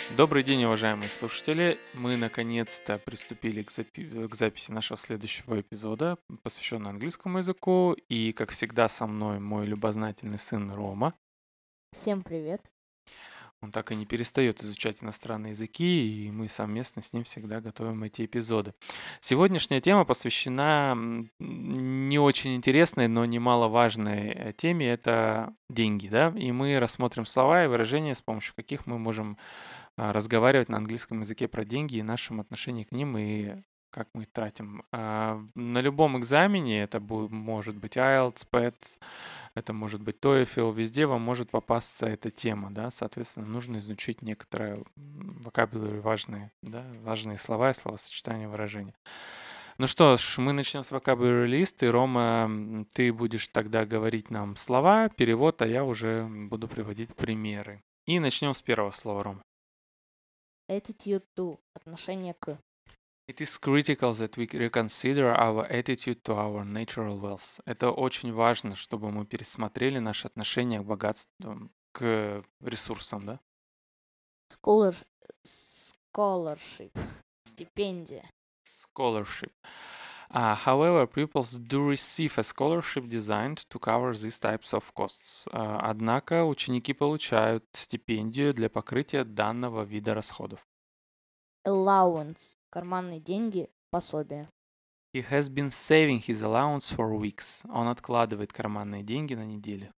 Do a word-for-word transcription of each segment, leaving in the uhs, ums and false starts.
Добрый день, уважаемые слушатели. Мы наконец-то приступили к, запи- к записи нашего следующего эпизода, посвященного английскому языку. И, как всегда, со мной мой любознательный сын Рома. Всем привет. Он так и не перестает изучать иностранные языки, и мы совместно с ним всегда готовим эти эпизоды. Сегодняшняя тема посвящена м, не очень интересной, но немаловажной э, теме. Это деньги, да? И мы рассмотрим слова и выражения, с помощью каких мы можем а, разговаривать на английском языке про деньги и нашем отношении к ним и как мы их тратим. А, На любом экзамене, это бу- может быть айлтс, пэтс, это может быть TOEFL, везде вам может попасться эта тема, да, соответственно, нужно изучить некоторые vocabulary важные, да, важные слова и словосочетания, выражения. Ну что ж, мы начнем с vocabulary list, и, Рома, м, ты будешь тогда говорить нам слова, перевод, а я уже буду приводить примеры. И начнем с первого слова, Ром. Attitude to. Отношение к. It is critical that we reconsider our attitude to our natural wealth. Это очень важно, чтобы мы пересмотрели наше отношение к богатству, к ресурсам, да? Scholar... Scholarship. Стипендия. Scholarship. Uh, however, pupils do receive a scholarship designed to cover these types of costs. Uh, однако ученики получают стипендию для покрытия данного вида расходов. Allowance. Карманные деньги. Пособие. He has been saving his allowance for weeks. Он откладывает карманные деньги на неделю.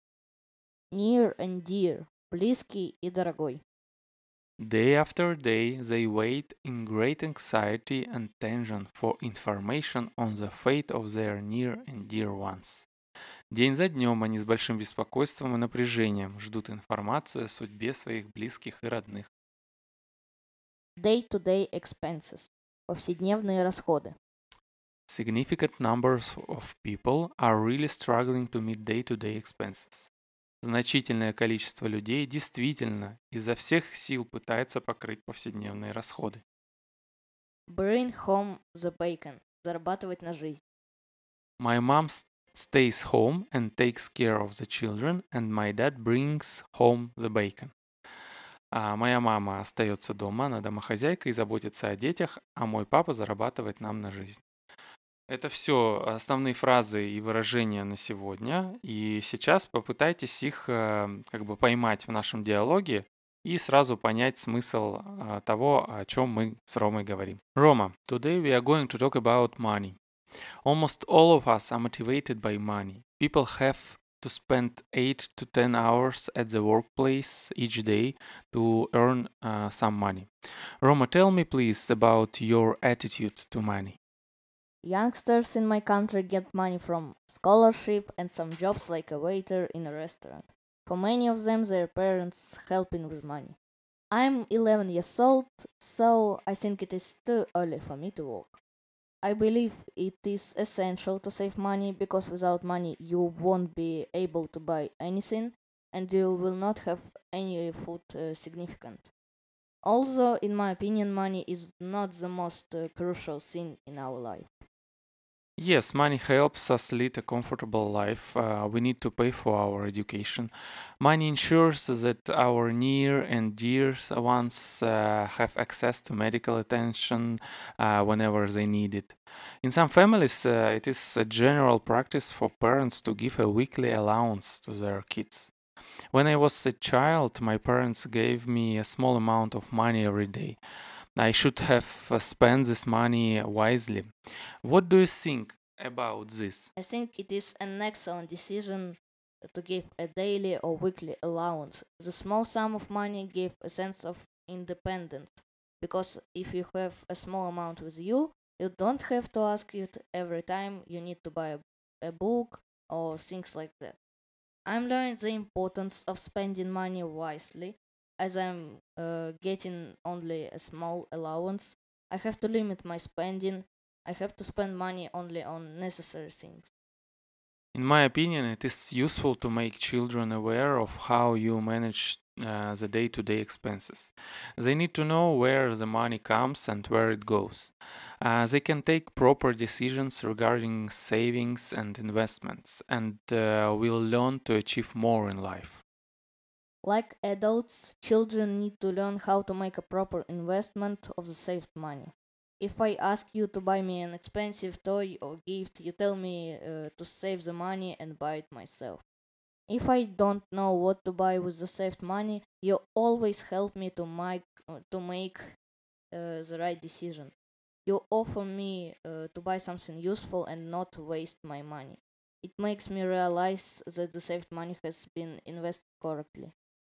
Near and dear. Близкий и дорогой. Day after day, they wait in great anxiety and tension for information on the fate of their near and dear ones. День за днем они с большим беспокойством и напряжением ждут информации о судьбе своих близких и родных. Day-to-day expenses. Повседневные расходы. Significant numbers of people are really struggling to meet day-to-day expenses. Значительное количество людей действительно изо всех сил пытается покрыть повседневные расходы. Bring home the bacon. Зарабатывать на жизнь. My mom s- stays home and takes care of the children, and my dad brings home the bacon. А моя мама остается дома, она домохозяйка и заботится о детях, а мой папа зарабатывает нам на жизнь. Это все основные фразы и выражения на сегодня. И сейчас попытайтесь их э, как бы поймать в нашем диалоге и сразу понять смысл э, того, о чем мы с Ромой говорим. Рома, today we are going to talk about money. Almost all of us are motivated by money. People have to spend eight to ten hours at the workplace each day to earn uh, some money. Roma, tell me please about your attitude to money. Youngsters in my country get money from scholarship and some jobs like a waiter in a restaurant. For many of them, their parents helping with money. I'm eleven years old, so I think it is too early for me to work. I believe it is essential to save money because without money you won't be able to buy anything and you will not have any food uh, significant. Also, in my opinion, money is not the most uh, crucial thing in our life. Yes, money helps us lead a comfortable life. Uh, we need to pay for our education. Money ensures that our near and dear ones uh, have access to medical attention uh, whenever they need it. In some families, uh, it is a general practice for parents to give a weekly allowance to their kids. When I was a child, my parents gave me a small amount of money every day. I should have uh, spent this money wisely. What do you think about this? I think it is an excellent decision to give a daily or weekly allowance. The small sum of money gives a sense of independence because if you have a small amount with you, you don't have to ask it every time you need to buy a, a book or things like that. I'm learning the importance of spending money wisely as I'm uh, getting only a small allowance. I have to limit my spending. I have to spend money only on necessary things. In my opinion, it is useful to make children aware of how you manage uh, the day to day expenses. They need to know where the money comes and where it goes. Uh, they can take proper decisions regarding savings and investments and uh, will learn to achieve more in life. Like adults, children need to learn how to make a proper investment of the saved money. If I ask you to buy me an expensive toy or gift, you tell me uh, to save the money and buy it myself. If I don't know what to buy with the saved money, you always help me to make uh, to make uh, the right decision. You offer me uh, to buy something useful and not waste my money. It makes me realize that the saved money has been invested correctly.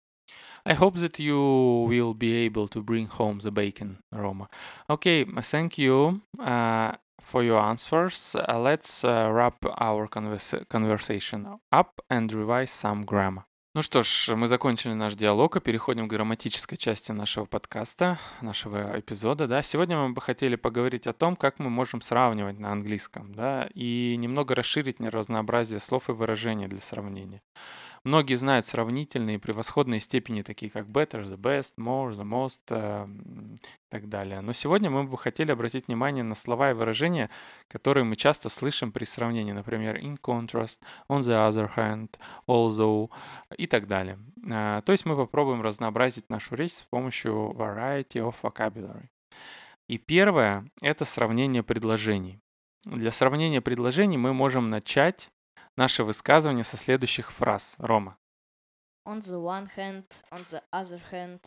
I hope that you will be able to bring home the bacon, Roma. Okay, thank you uh, for your answers. Uh, let's uh, wrap our conversa- conversation up and revise some grammar. Ну что ж, мы закончили наш диалог и переходим к грамматической части нашего подкаста, нашего эпизода. Да. Сегодня мы бы хотели поговорить о том, как мы можем сравнивать на английском, да, и немного расширить разнообразие слов и выражений для сравнения. Многие знают сравнительные и превосходные степени, такие как better, the best, more, the most э, и так далее. Но сегодня мы бы хотели обратить внимание на слова и выражения, которые мы часто слышим при сравнении. Например, in contrast, on the other hand, although и так далее. А, то есть мы попробуем разнообразить нашу речь с помощью variety of vocabulary. И первое — это сравнение предложений. Для сравнения предложений мы можем начать наше высказывание со следующих фраз. Рома. On the one hand, on the other hand.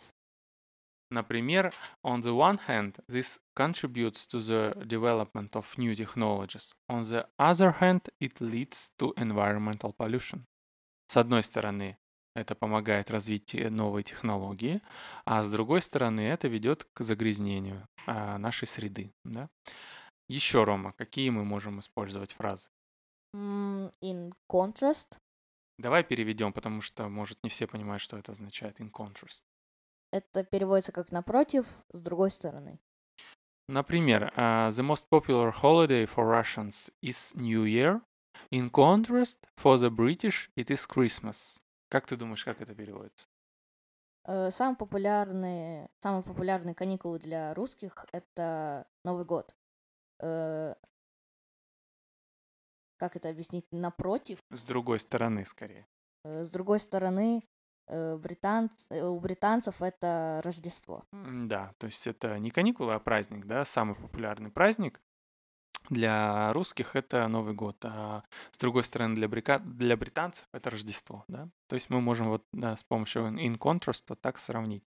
Например, on the one hand, this contributes to the development of new technologies. On the other hand, it leads to environmental pollution. С одной стороны, это помогает развить новые технологии, а с другой стороны, это ведет к загрязнению а, нашей среды. Да? Еще, Рома, какие мы можем использовать фразы? Mm, in contrast. Давай переведем, потому что, может, не все понимают, что это означает in contrast. Это переводится как напротив, с другой стороны. Например, uh, the most popular holiday for Russians is New Year. In contrast, for the British, it is Christmas. Как ты думаешь, как это переводится? Э, самые популярные, самые популярные каникулы для русских — это Новый год. Э, как это объяснить? Напротив. С другой стороны, скорее. Э, с другой стороны, э, британц, э, у британцев это Рождество. М, Да, то есть это не каникулы, а праздник, да, самый популярный праздник. Для русских это Новый год, а с другой стороны для, брика- для британцев это Рождество, да. То есть мы можем вот да, с помощью in contrast вот так сравнить.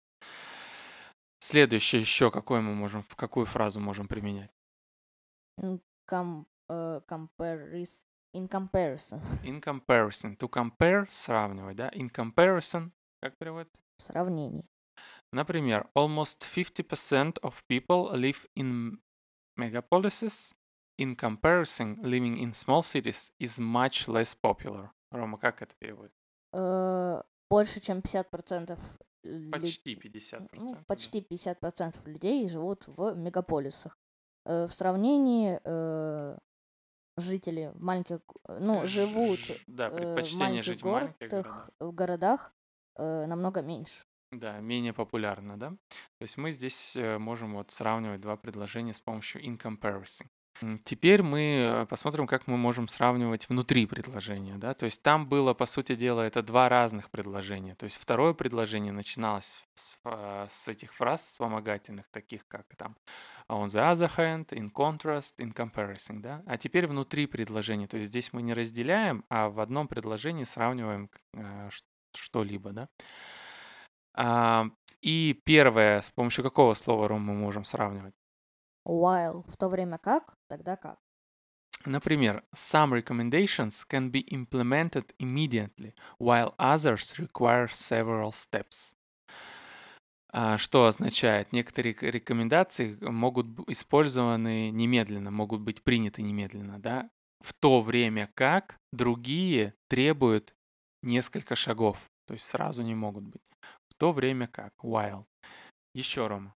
Следующее еще какое мы можем, в какую фразу можем применять? In, com, э, comparis- in comparison. In comparison. To compare — сравнивать, да. In comparison, как переводится? В сравнении. Например, almost fifty percent of people live in megapolises. In comparison, living in small cities is much less popular. Рома, как это переводится? Э, больше, чем пятьдесят процентов лю- Почти пятьдесят ну, процентов. да. почти пятьдесят процентов людей живут в мегаполисах. Э, в сравнении э, жители в маленьких, г- ну, Ж- живут Да, э, в предпочтение жить в маленьких городах, городах. в городах э, намного меньше. Да, менее популярно, да? То есть мы здесь э, можем вот сравнивать два предложения с помощью in comparison. М, Теперь мы э, посмотрим, как мы можем сравнивать внутри предложения, да? То есть там было, по сути дела, это два разных предложения. То есть второе предложение начиналось с, фа- с этих фраз вспомогательных, таких как там on the other hand, in contrast, in comparison, да? А теперь внутри предложения. То есть здесь мы не разделяем, а в одном предложении сравниваем э, ш- что-либо, да? А, и первое, с помощью какого слова, Ром, мы можем сравнивать? While в то время как, тогда как. Например, some recommendations can be implemented immediately, while others require several steps. А, Что означает? Некоторые к- рекомендации могут быть использованы немедленно, могут быть приняты немедленно, да? В то время как другие требуют несколько шагов, то есть сразу не могут быть. В то время как, while. Еще, Рома.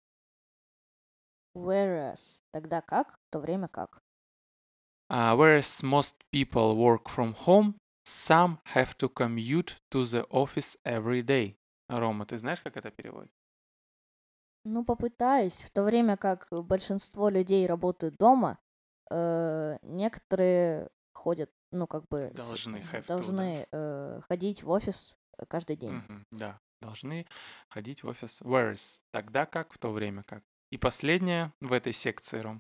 Whereas тогда как, в то время как. Uh, whereas most people work from home, some have to commute to the office every day. Рома, ты знаешь, как это переводит? Ну, попытаюсь. В то время как большинство людей работают дома, э, некоторые ходят, ну, как бы с- Должны have to, да. должны э, ходить в офис э, каждый день. Мгм, да, должны ходить в офис. Whereas, тогда как, в то время как. И последнее в этой секции, Ром.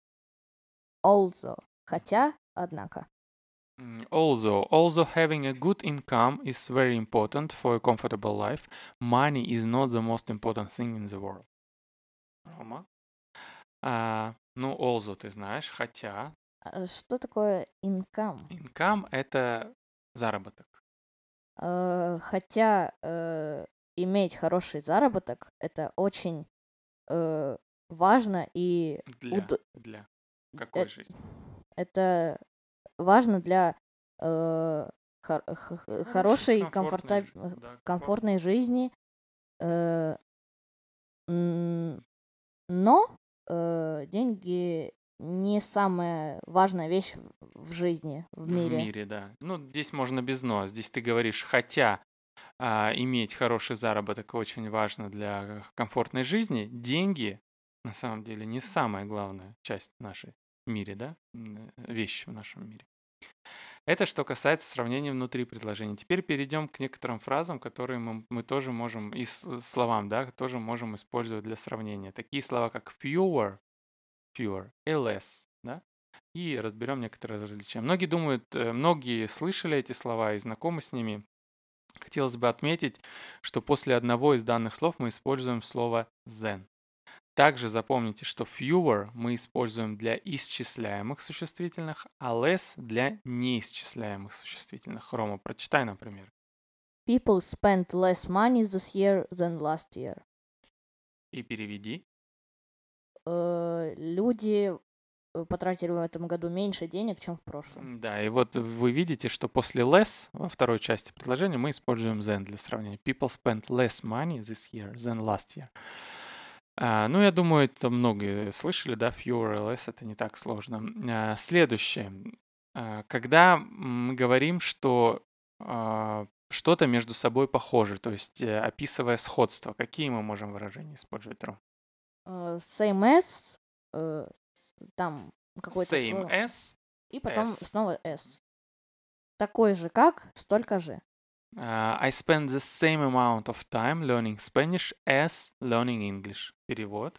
Also. Хотя, однако. Mm, Although, although having a good income is very important for a comfortable life, money is not the most important thing in the world. Рома? А, ну, although ты знаешь, хотя А Что такое income? income — это заработок. Э, Хотя э, иметь хороший заработок это очень э, важно и Для, уд- для какой э- жизни? это важно для э, хор- х- х- Хорошей, хорошей, комфортной, комфорта- жи- да, комфорт. комфортной жизни. э, м, Но э, деньги не самая важная вещь в в жизни, в В мире. мире, да. Ну, здесь можно без «но». Здесь ты говоришь, хотя а, иметь хороший заработок очень важно для комфортной жизни, деньги на самом деле не самая главная часть в нашей мире, да, м, э, вещь в нашем мире. Это что касается сравнения внутри предложений. Теперь перейдем к некоторым фразам, которые мы, мы тоже можем, и с- словам, да, тоже можем использовать для сравнения. Такие слова, как fewer, fewer и less, да, и разберем некоторые различия. Многие думают, э, многие слышали эти слова и знакомы с ними. Хотелось бы отметить, что после одного из данных слов мы используем слово than. Также запомните, что fewer мы используем для исчисляемых существительных, а less для неисчисляемых существительных. Рома, прочитай, например. People spent less money this year than last year. И переведи. Э, Люди э, потратили в этом году меньше денег, чем в прошлом. М, Да, и вот вы видите, что после less во второй части предложения мы используем than для сравнения. People spent less money this year than last year. А, ну, я думаю, это многие слышали, да, fewer и less, это не так сложно. А, следующее. А, когда мы говорим, что а, что-то между собой похоже, то есть э, описывая сходство, какие мы можем выражения использовать, Ром? Э, Same as, э, с- там какое-то Same слово, as, и потом as. снова s. Такой же как, столько же. А, I spend the same amount of time learning Spanish as learning English. Перевод.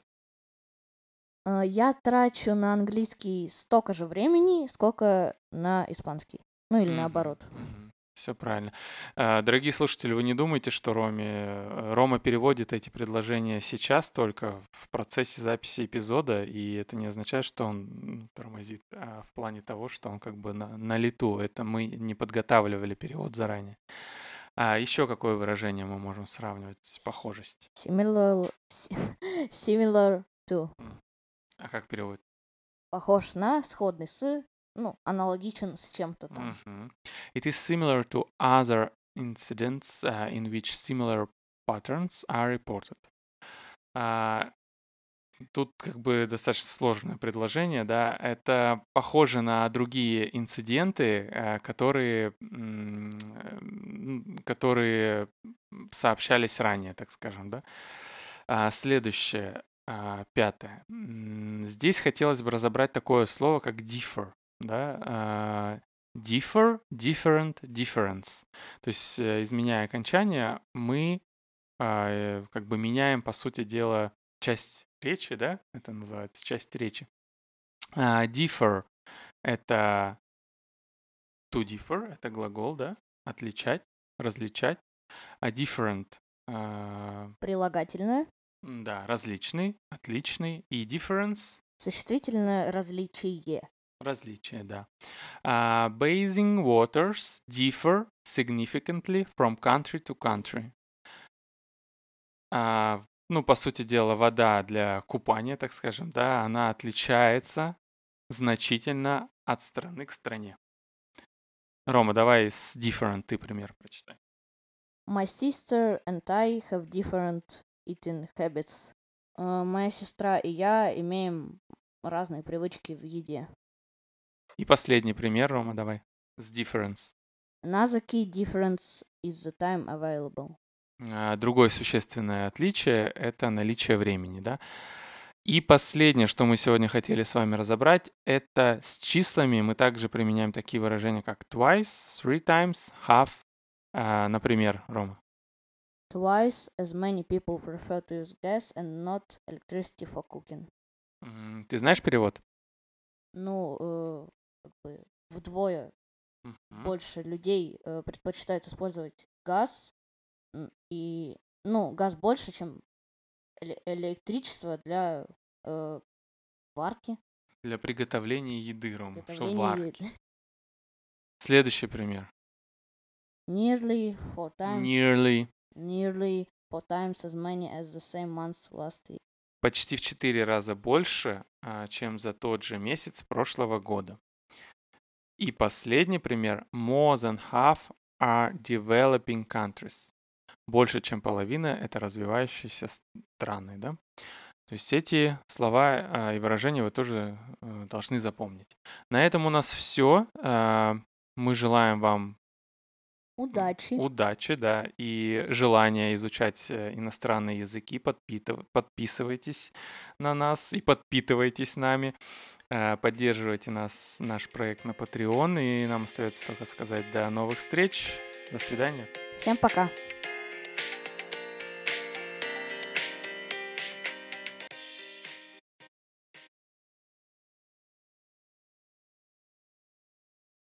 Э, Я трачу на английский столько же времени, сколько на испанский. Ну или наоборот. Все правильно. А, Дорогие слушатели, вы не думайте, что Роме, э, Рома переводит эти предложения сейчас только в процессе записи эпизода, и это не означает, что он м, тормозит, а в плане того, что он как бы на, на лету. Это мы не подготавливали перевод заранее. А еще какое выражение мы можем сравнивать? Похожесть. Similar, similar to. М. А как перевод? Похож на, сходный с, ну, аналогичен с чем-то там. Мгм. It is similar to other incidents uh, in which similar patterns are reported. А, Тут как бы достаточно сложное предложение, да. Это похоже на другие инциденты, э, которые, м, э, м, которые сообщались ранее, так скажем, да. А, Следующее, а, пятое. М, Здесь хотелось бы разобрать такое слово, как differ, да. а, Differ, different, difference. То есть, э, изменяя окончание, мы а, э, как бы меняем, по сути дела, часть речи, да, это называется часть речи. А, differ — это to differ, это глагол, да, отличать, различать. А different, а, Прилагательное. м, да, различный, отличный. И difference — Существительное различие. различие, да. А, bathing waters differ significantly from country to country. А, ну, по сути дела, вода для купания, так скажем, да, она отличается значительно от страны к стране. Рома, давай с different ты пример прочитай. My sister and I have different eating habits. Э, Моя сестра и я имеем разные привычки в еде. И последний пример, Рома, давай. С difference. Another key difference is the time available. А, Другое существенное отличие — это наличие времени, да. И последнее, что мы сегодня хотели с вами разобрать, это с числами мы также применяем такие выражения, как twice, three times, half. А, Например, Рома. twice as many people prefer to use gas and not electricity for cooking. М, Ты знаешь перевод? Ну, э, как бы вдвое Мгм. больше людей э, предпочитают использовать газ, м, и, ну, газ больше, чем эле- электричество для э, варки, Для приготовления еды, Рома, что приготовления варки. еды. Следующий пример. Nearly four times, Nearly. nearly four times as many as the same months last year. Почти в четыре раза больше, а, чем за тот же месяц прошлого года. И последний пример. More than half are developing countries. Больше, чем половина — это развивающиеся страны, да? То есть эти слова а, и выражения вы тоже э, должны запомнить. На этом у нас все. Мы желаем вам м, Удачи! удачи, да, и желания изучать э, иностранные языки. Подпитыв- Подписывайтесь на нас и подпитывайтесь нами. Э, Поддерживайте нас, наш проект на Patreon. И нам остается только сказать до новых встреч. До свидания. Всем пока!